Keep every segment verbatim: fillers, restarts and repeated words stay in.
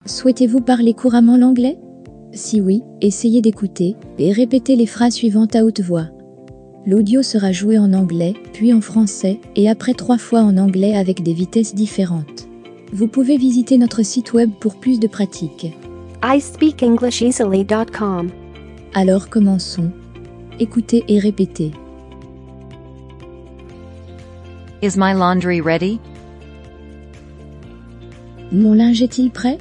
Souhaitez-vous parler couramment l'anglais? Si oui, essayez d'écouter et répétez les phrases suivantes à haute voix. L'audio sera joué en anglais, puis en français, et après trois fois en anglais avec des vitesses différentes. Vous pouvez visiter notre site web pour plus de pratiques. i speak english easily dot com. Alors commençons. Écoutez et répétez. Is my laundry ready? Mon linge est-il prêt?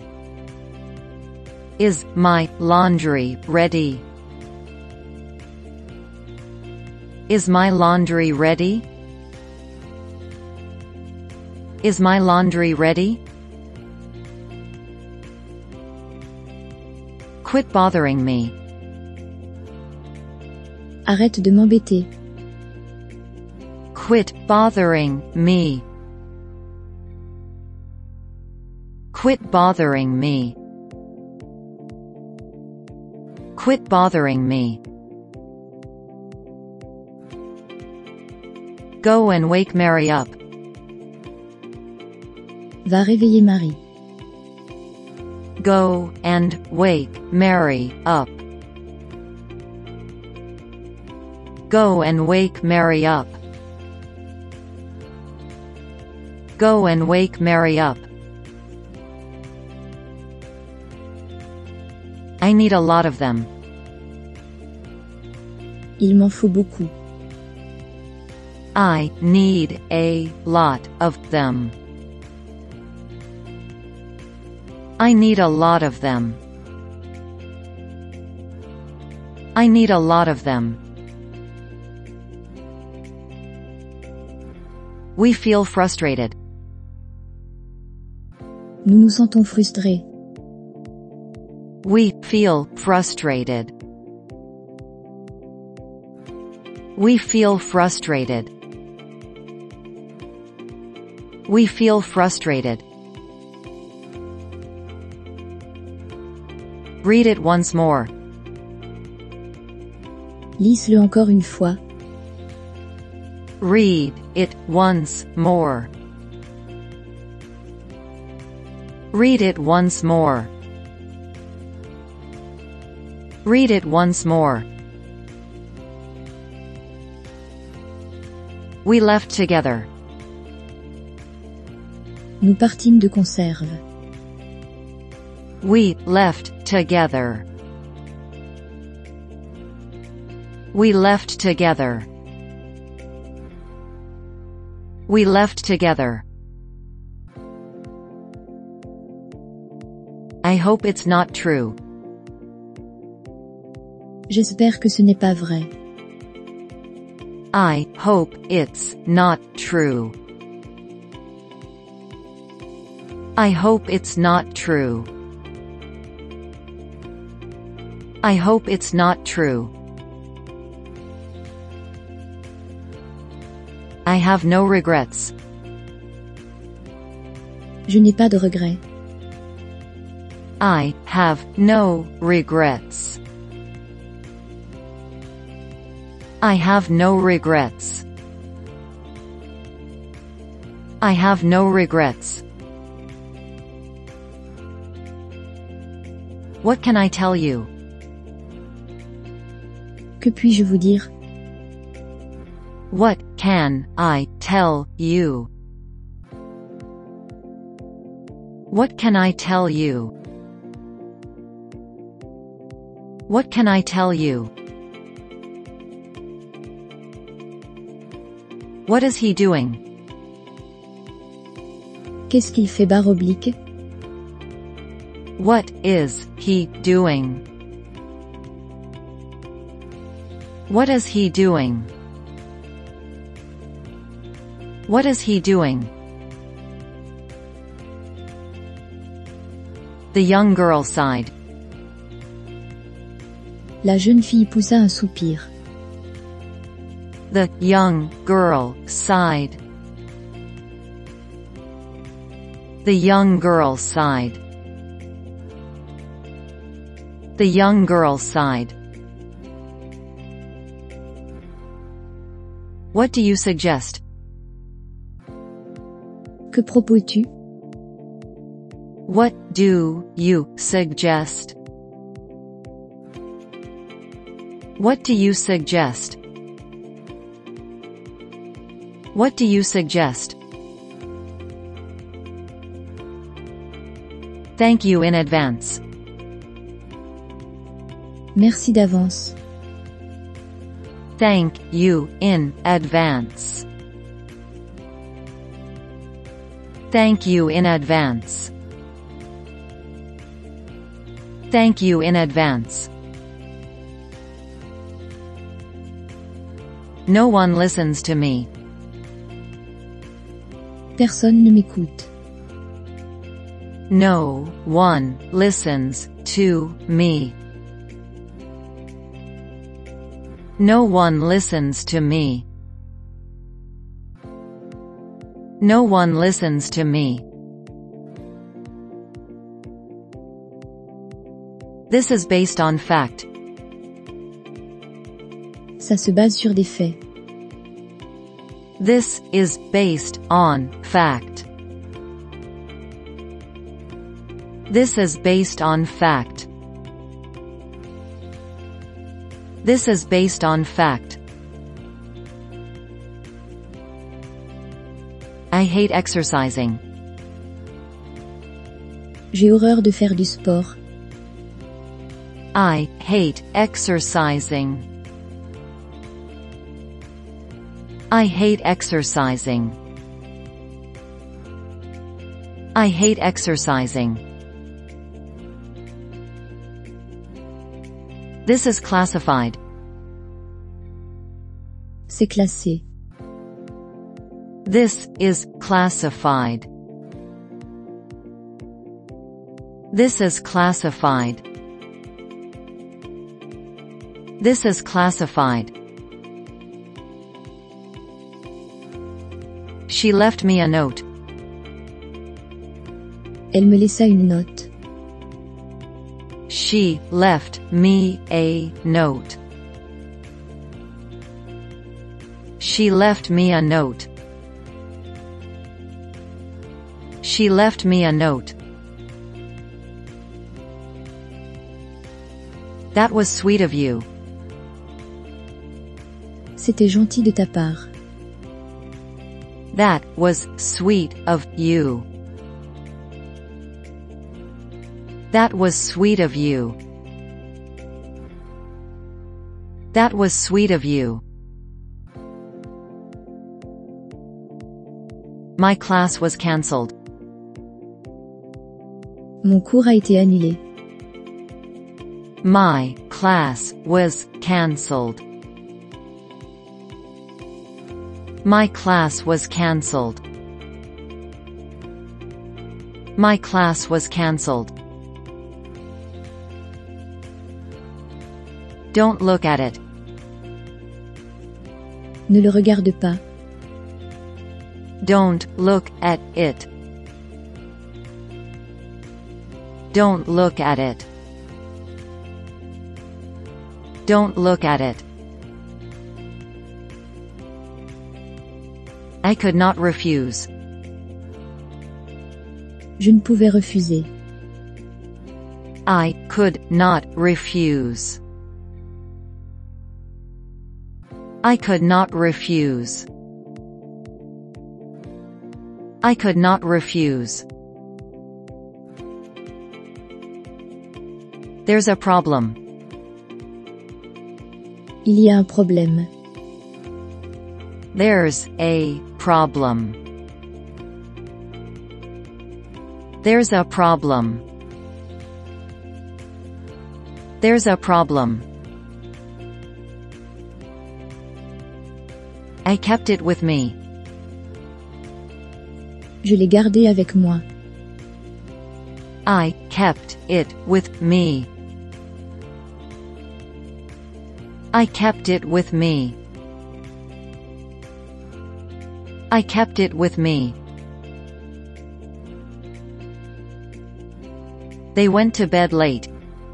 Is my laundry ready? Is my laundry ready? Is my laundry ready? Quit bothering me. Arrête de m'embêter. Quit bothering me. Quit bothering me. Quit bothering me. Go and wake Mary up. Va réveiller Marie. Go and wake Mary up. Go and wake Mary up. Go and wake Mary up. I need a lot of them. Il m'en faut beaucoup. I need a lot of them. I need a lot of them. I need a lot of them. We feel frustrated. Nous nous sentons frustrés. We feel frustrated. We feel frustrated. We feel frustrated. Read it once more. Lise-le encore une fois. Read it once more. Read it once more. Read it once more. We left together. Nous partîmes de conserve. We left together. We left together. We left together. I hope it's not true. J'espère que ce n'est pas vrai. I hope it's not true. I hope it's not true. I hope it's not true. I have no regrets. Je n'ai pas de regrets. I have no regrets. I have no regrets. I have no regrets. What can I tell you? Que puis-je vous dire? What can I tell you? What can I tell you? What can I tell you? What is he doing? Qu'est-ce qu'il fait barre oblique? What is he doing? What is he doing? What is he doing? The young girl sighed. La jeune fille poussa un soupir. The young girl sighed. The young girl sighed. The young girl sighed. What do you suggest? Que proposes-tu? What do you suggest? What do you suggest? What do you suggest? Thank you in advance. Merci d'avance. Thank you in advance. Thank you in advance. Thank you in advance. No one listens to me. Personne ne m'écoute. No one listens to me. No one listens to me. No one listens to me. This is based on fact. Ça se base sur des faits. This is based on fact. This is based on fact. This is based on fact. I hate exercising. J'ai horreur de faire du sport. I hate exercising. I hate exercising. I hate exercising. This is classified. C'est classé. This is classified. This is classified. This is classified. She left me a note. Elle me laissa une note. She left me a note. She left me a note. She left me a note. That was sweet of you. C'était gentil de ta part. That was sweet of you. That was sweet of you. That was sweet of you. My class was cancelled. Mon cours a été annulé. My class was cancelled. My class was cancelled. My class was cancelled. Don't look at it. Ne le regarde pas. Don't look at it. Don't look at it. Don't look at it. I could not refuse. Je ne pouvais refuser. I could not refuse. I could not refuse. I could not refuse. There's a problem. Il y a un problème. There's a problem. There's a problem. There's a problem. I kept it with me. Je l'ai gardé avec moi. I kept it with me. I kept it with me. I kept it with me. They went to bed late.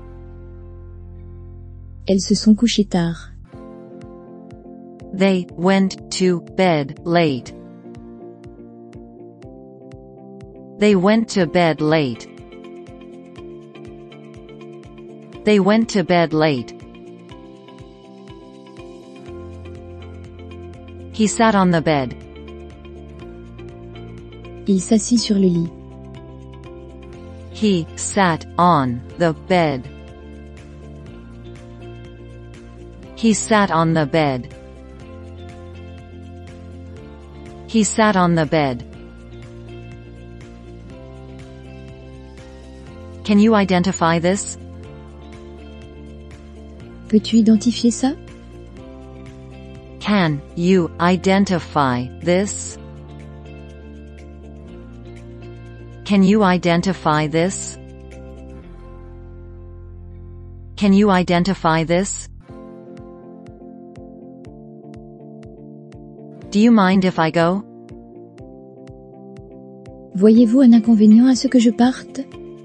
Elles se sont couchées tard. They went to bed late. They went to bed late. They went to bed late. He sat on the bed. Il s'assit sur le lit. He sat on the bed. He sat on the bed. He sat on the bed. Can you identify this? Peux-tu identifier ça? Can you identify this? Can you identify this? Can you identify this? Do you mind if I go? Voyez-vous un inconvénient à ce que je parte?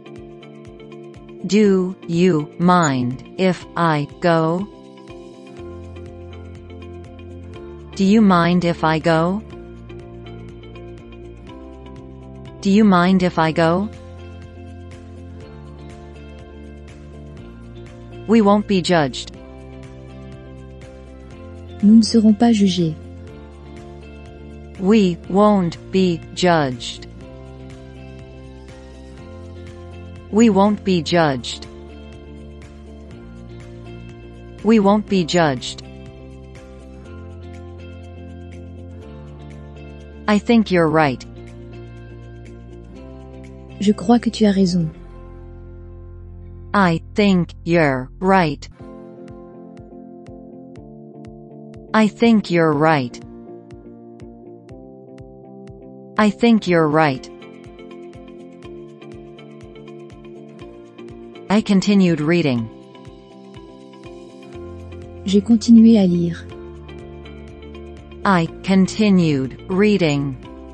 Do you mind if I go? Do you mind if I go? Do you mind if I go? We won't be judged. Nous ne serons pas jugés. We won't be judged. We won't be judged. We won't be judged. I think you're right. Je crois que tu as raison. I think you're right. I think you're right. I think you're right. I continued reading. J'ai continué à lire. I continued reading.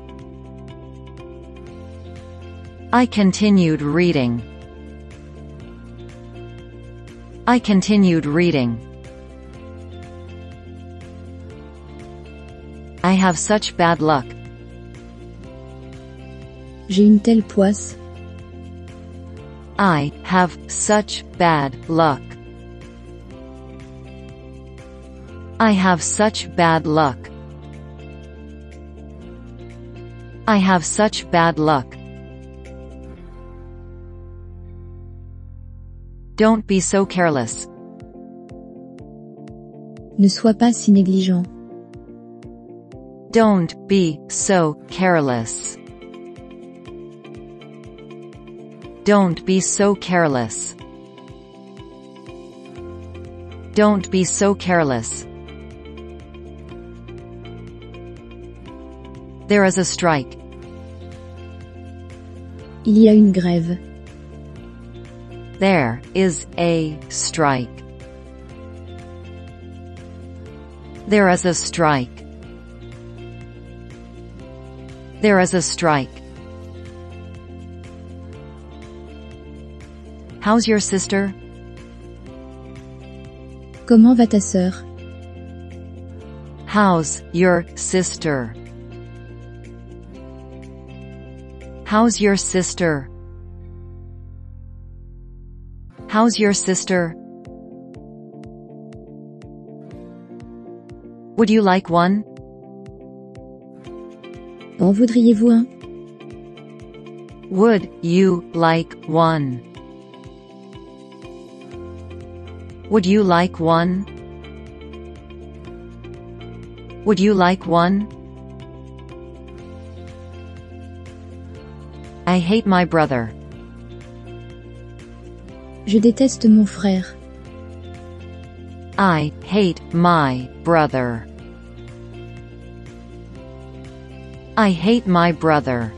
I continued reading. I continued reading. I have such bad luck. J'ai une telle poisse. I have such bad luck. I have such bad luck. I have such bad luck. Don't be so careless. Ne sois pas si négligent. Don't be so careless. Don't be so careless. Don't be so careless. There is a strike. Il y a une grève. There is a strike. There is a strike. There is a strike. How's your sister? Comment va ta sœur? How's your sister? How's your sister? How's your sister? Would you like one? En voudriez-vous un? Would you like one? Would you like one? Would you like one? I hate my brother. Je déteste mon frère. I hate my brother. I hate my brother.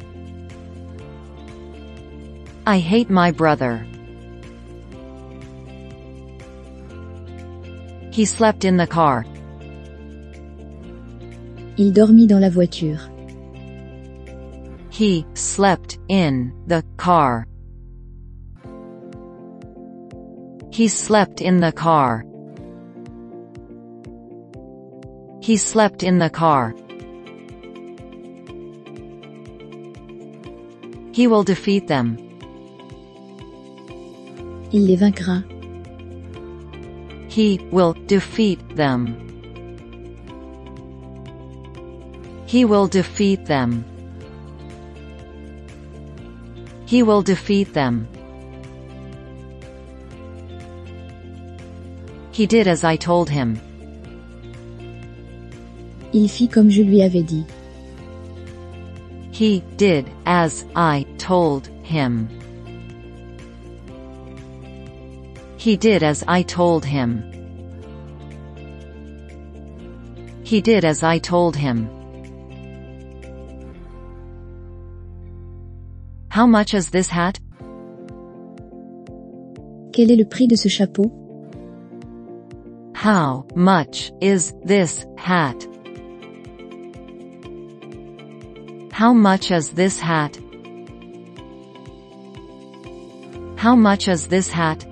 I hate my brother. He slept in the car. Il dormit dans la voiture. He slept in the car. He slept in the car. He slept in the car. He will defeat them. Il les vaincra. He will defeat them. He will defeat them. He will defeat them. He did as I told him. Il fit comme je lui avais dit. He did as I told him. He did as I told him. He did as I told him. How much is this hat? Quel est le prix de ce chapeau? How much is this hat? How much is this hat? How much is this hat?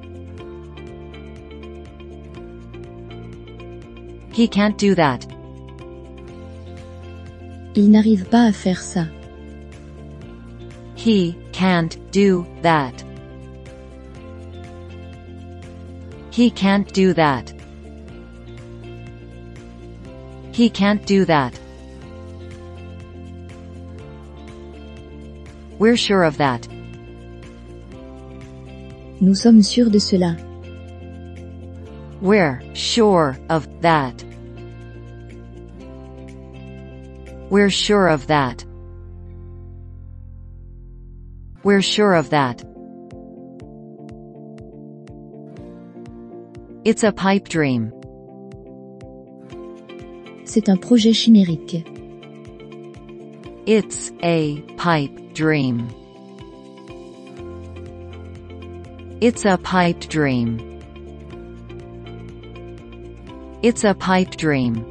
He can't do that. Il n'arrive pas à faire ça. He can't do that. He can't do that. He can't do that. We're sure of that. Nous sommes sûrs de cela. We're sure of that. We're sure of that. We're sure of that. It's a pipe dream. C'est un projet chimérique. It's a pipe dream. It's a pipe dream. It's a pipe dream.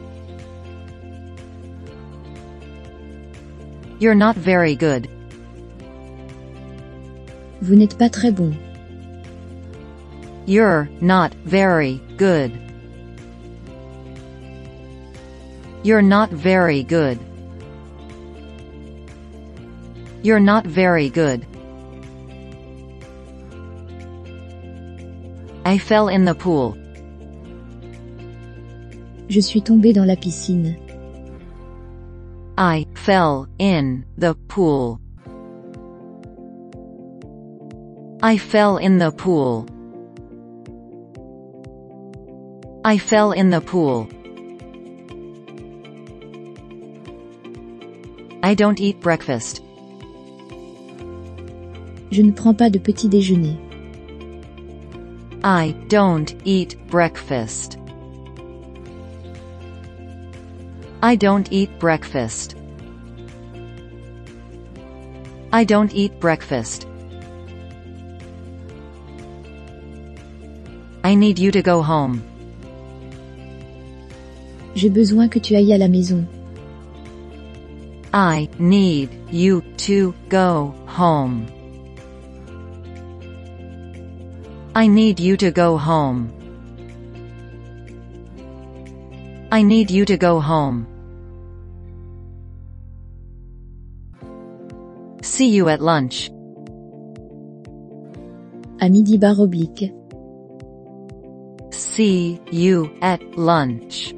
You're not very good. Vous n'êtes pas très bon. You're not very good. You're not very good. You're not very good. I fell in the pool. Je suis tombé dans la piscine. I fell in the pool. I fell in the pool. I fell in the pool. I don't eat breakfast. Je ne prends pas de petit déjeuner. I don't eat breakfast. I don't eat breakfast. I don't eat breakfast. I need you to go home. J'ai besoin que tu ailles à la maison. I need you to go home. I need you to go home. I need you to go home. See you at lunch. À midi barre oblique. See you at lunch.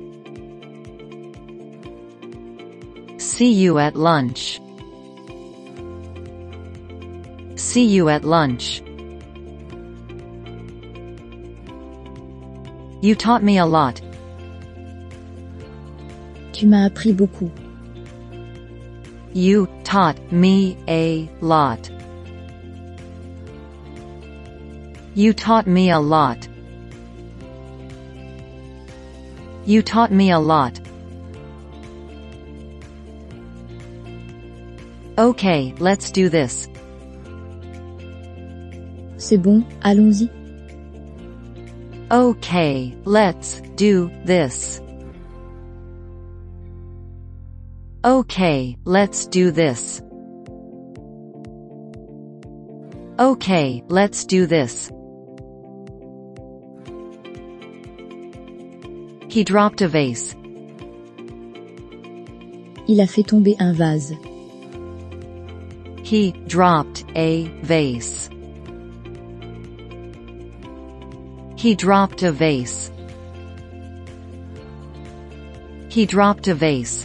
See you at lunch. See you at lunch. You taught me a lot. Tu m'as appris beaucoup. You taught me a lot. You taught me a lot. You taught me a lot. Okay, let's do this. C'est bon, allons-y. Okay, let's do this. Okay, let's do this. Okay, let's do this. He dropped a vase. Il a fait tomber un vase. He dropped a vase. He dropped a vase. He dropped a vase.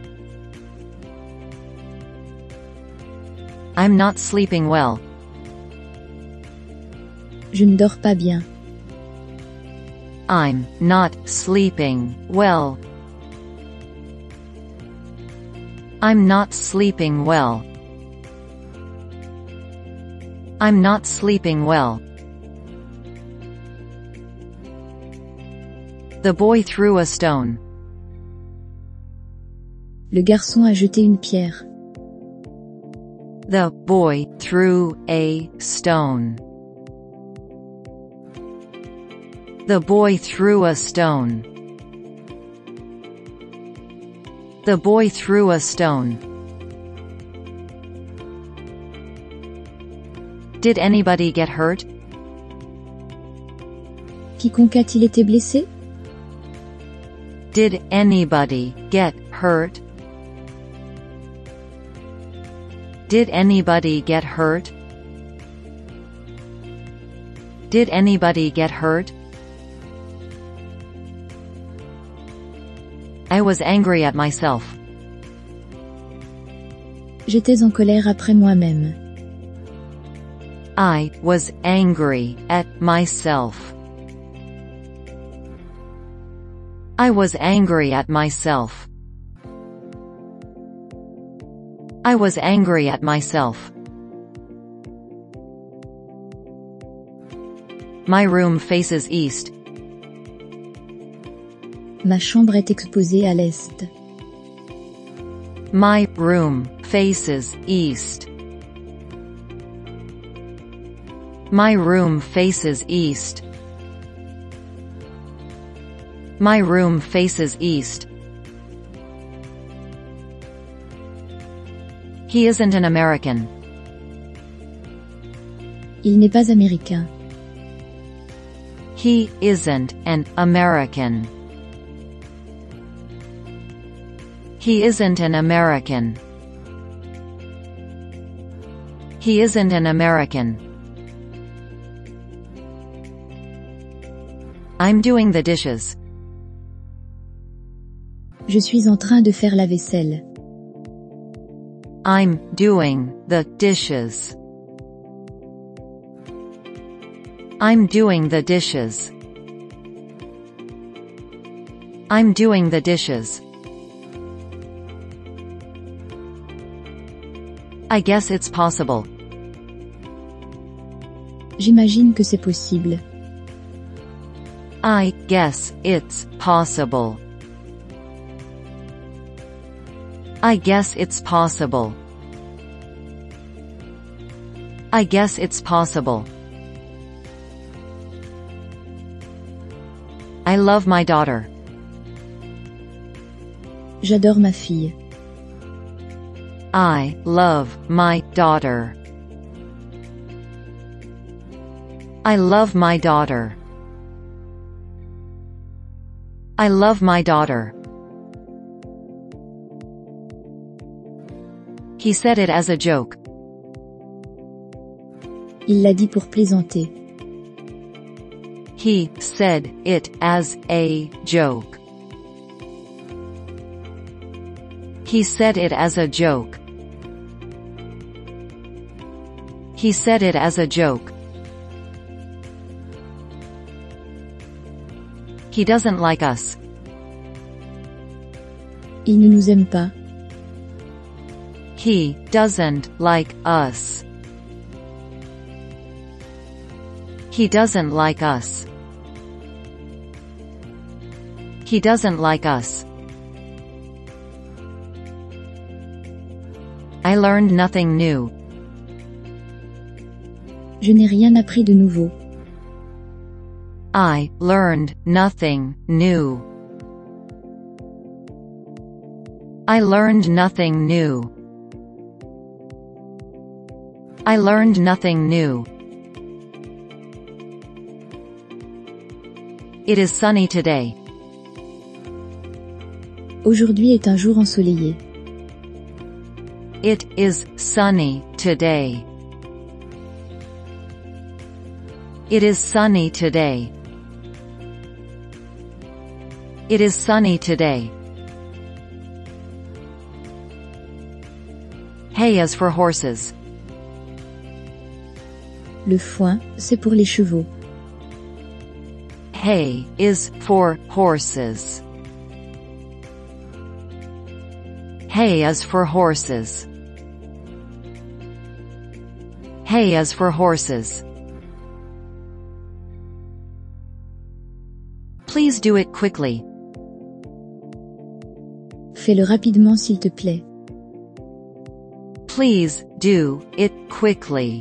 I'm not sleeping well. Je ne dors pas bien. I'm not sleeping well. I'm not sleeping well. I'm not sleeping well. The boy threw a stone. Le garçon a jeté une pierre. The boy threw a stone. The boy threw a stone. The boy threw a stone. Did anybody get hurt? Quiconque a-t-il été blessé? Did anybody get hurt? Did anybody get hurt? Did anybody get hurt? I was angry at myself. J'étais en colère après moi-même. I was angry at myself. I was angry at myself. I was angry at myself. My room faces east. Ma chambre est exposée à l'est. My room faces east. My room faces east. My room faces east. He isn't an American. Il n'est pas américain. He isn't an American. He isn't an American. He isn't an American. I'm doing the dishes. Je suis en train de faire la vaisselle. I'm doing the dishes. I'm doing the dishes. I'm doing the dishes. I guess it's possible. J'imagine que c'est possible. I guess it's possible. I guess it's possible. I guess it's possible. I love my daughter. J'adore ma fille. I love my daughter. I love my daughter. I love my daughter. He said it as a joke. Il l'a dit pour plaisanter. He said it as a joke. He said it as a joke. He said it as a joke. He doesn't like us. Il ne nous aime pas. He doesn't like us. He doesn't like us. He doesn't like us. I learned nothing new. Je n'ai rien appris de nouveau. I learned nothing new. I learned nothing new. I learned nothing new. It is sunny today. Aujourd'hui est un jour ensoleillé. It is sunny today. It is sunny today. It is sunny today. Hay is for horses. Le foin, c'est pour les chevaux. Hay is for horses. Hay is for horses. Hay is for horses. Please do it quickly. Fais-le rapidement s'il te plaît. Please do it quickly.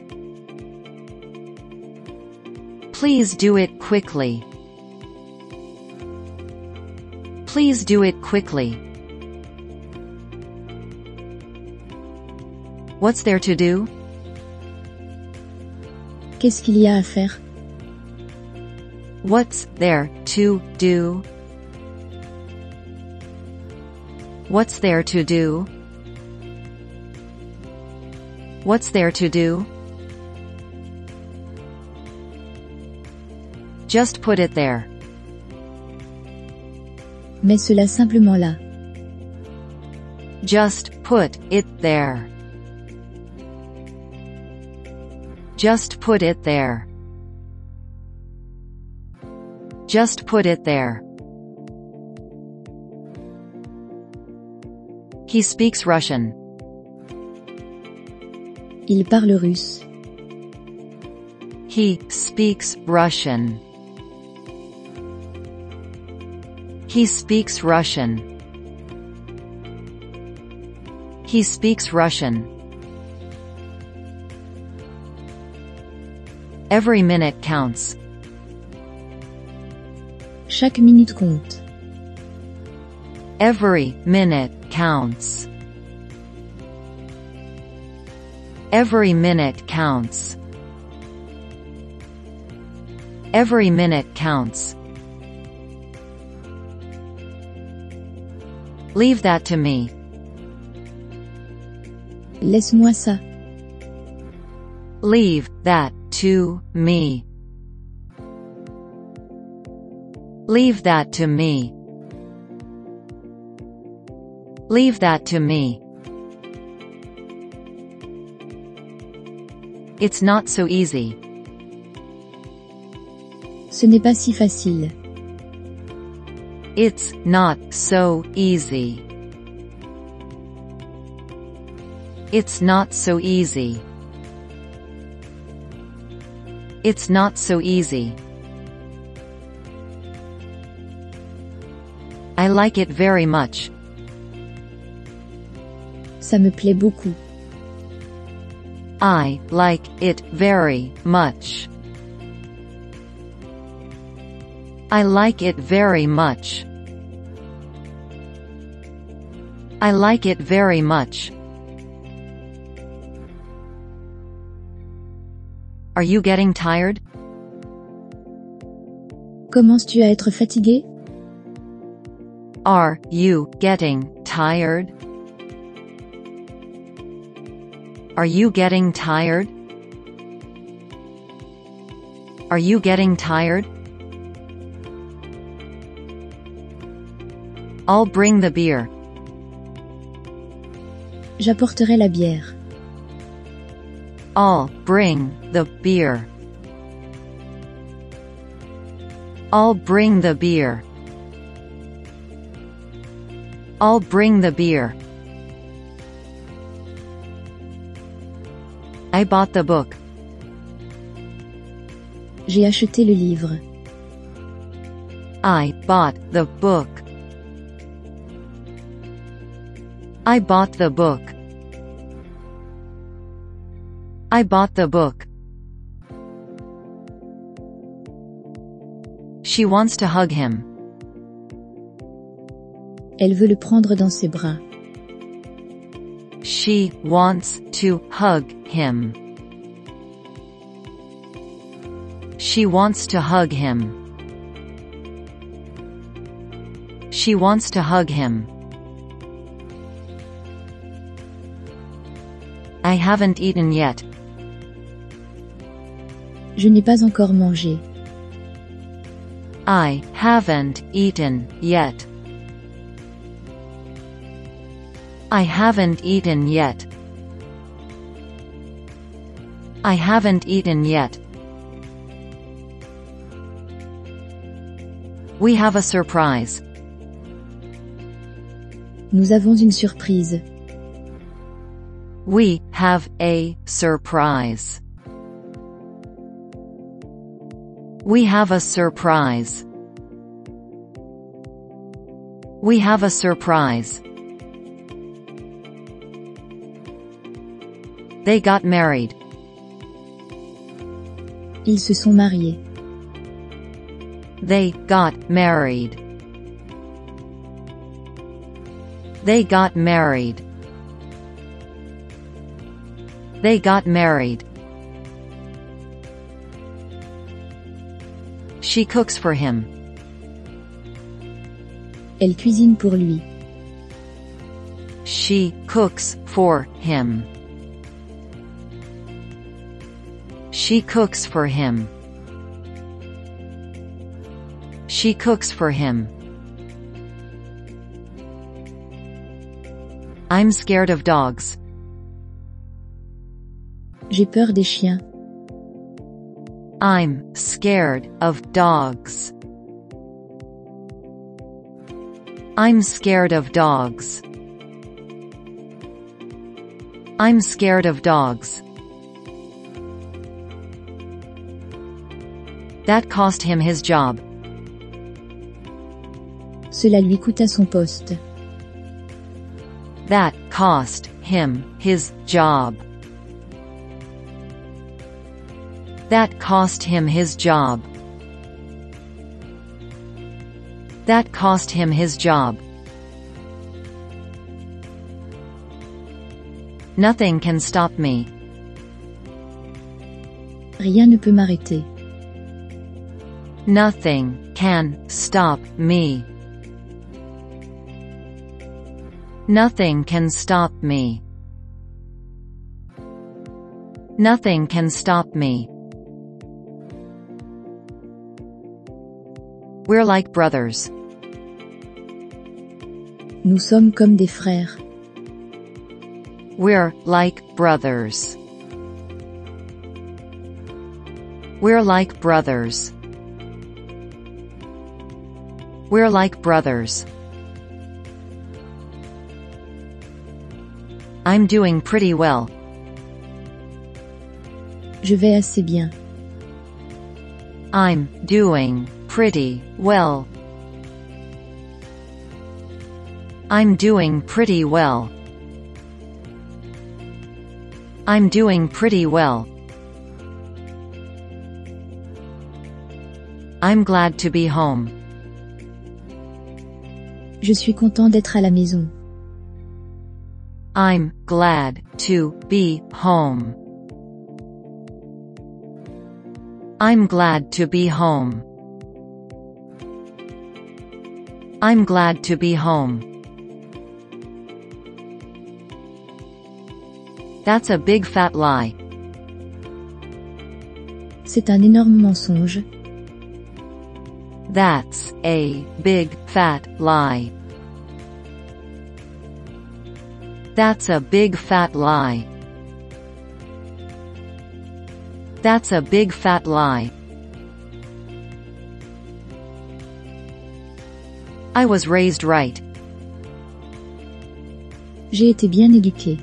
Please do it quickly. Please do it quickly. What's there to do? Qu'est-ce qu'il y a à faire? What's there to do? What's there to do? What's there to do? Just put it there. Mets cela simplement là. Just put it there. Just put it there. Just put it there. He speaks Russian. Il parle russe. He speaks Russian. He speaks Russian. He speaks Russian. Every minute counts. Chaque minute compte. Every minute counts. Every minute counts. Every minute counts. Leave that to me. Laisse-moi ça. Leave that to me. Leave that to me. Leave that to me. It's not so easy. Ce n'est pas si facile. It's not so easy. It's not so easy. It's not so easy. I like it very much. Ça me plaît beaucoup. I like it very much. I like it very much. I like it very much. Are you getting tired? Commences-tu à être fatigué? Are you getting tired? Are you getting tired? Are you getting tired? I'll bring the beer. J'apporterai la bière. I'll bring the beer. I'll bring the beer. I'll bring the beer. I bought the book. J'ai acheté le livre. I bought the book. I bought the book. I bought the book. She wants to hug him. Elle veut le prendre dans ses bras. She wants to hug him. She wants to hug him. She wants to hug him. I haven't eaten yet. Je n'ai pas encore mangé. I haven't eaten yet. I haven't eaten yet. I haven't eaten yet. We have a surprise. Nous avons une surprise. We have a surprise. We have a surprise. We have a surprise. They got married. Ils se sont mariés. They got married. They got married. They got married. She cooks for him. Elle cuisine pour lui. She cooks for him. She cooks for him. She cooks for him. I'm scared of dogs. J'ai peur des chiens. I'm scared of dogs. I'm scared of dogs. I'm scared of dogs. That cost him his job. Cela lui coûta son poste. That cost him his job. That cost him his job. That cost him his job. Nothing can stop me. Rien ne peut m'arrêter. Nothing can stop me. Nothing can stop me. Nothing can stop me. We're like brothers. Nous sommes comme des frères. We're like brothers. We're like brothers. We're like brothers. I'm doing pretty well. Je vais assez bien. I'm doing pretty well. I'm doing pretty well. I'm doing pretty well. I'm glad to be home. Je suis content d'être à la maison. I'm glad to be home. I'm glad to be home. I'm glad to be home. That's a big fat lie. C'est un énorme mensonge. That's a big fat lie. That's a big fat lie. That's a big fat lie. I was raised right. J'ai été bien éduqué.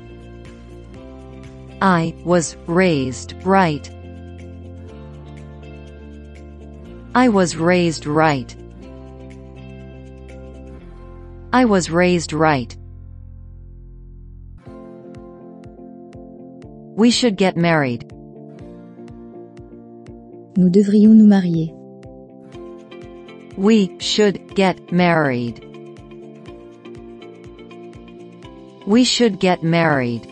I was raised right. I was raised right. I was raised right. We should get married. Nous devrions nous marier. We should get married. We should get married.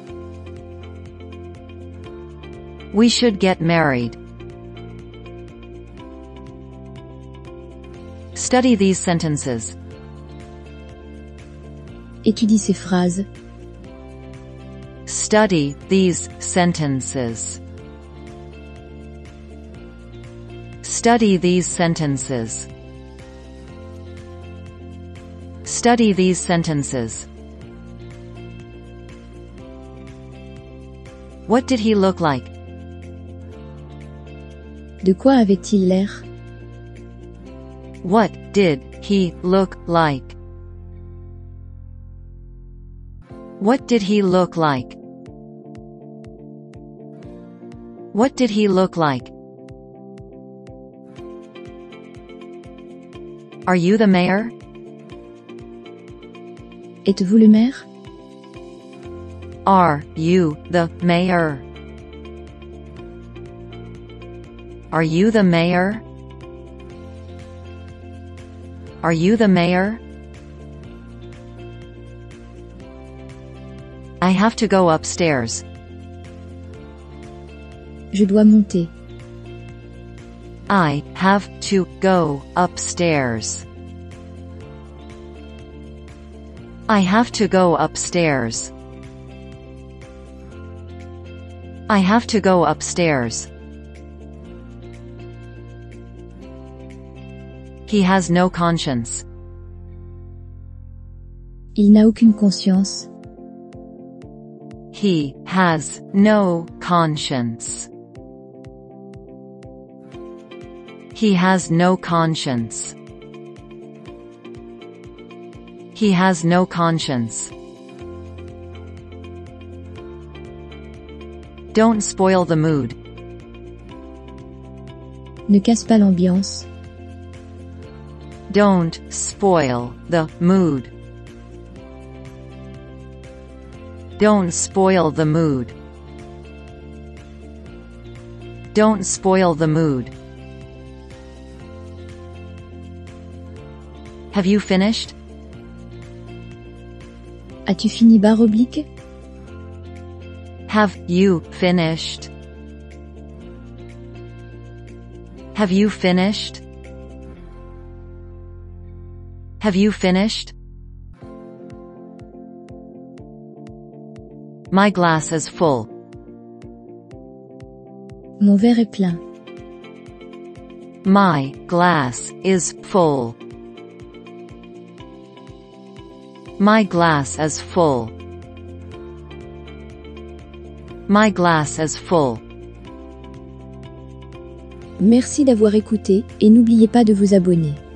We should get married. Study these sentences. Étudie ces phrases. Study these sentences. Study these sentences. Study these sentences. What did he look like? De quoi avait-il l'air? What did he look like? What did he look like? What did he look like? Are you the mayor? Êtes-vous le maire? Are you the mayor? Are you the mayor? Are you the mayor? I have to go upstairs. Je dois monter. I have to go upstairs. I have to go upstairs. I have to go upstairs. He has no conscience. Il n'a aucune conscience. He has no conscience. He has no conscience. He has no conscience. Don't spoil the mood. Ne casse pas l'ambiance. Don't spoil the mood. Don't spoil the mood. Don't spoil the mood. Have you finished? As-tu fini barre oblique? Have you finished? Have you finished? Have you finished? My glass is full. Mon verre est plein. My glass is full. My glass is full. My glass is full. Merci d'avoir écouté, et n'oubliez pas de vous abonner.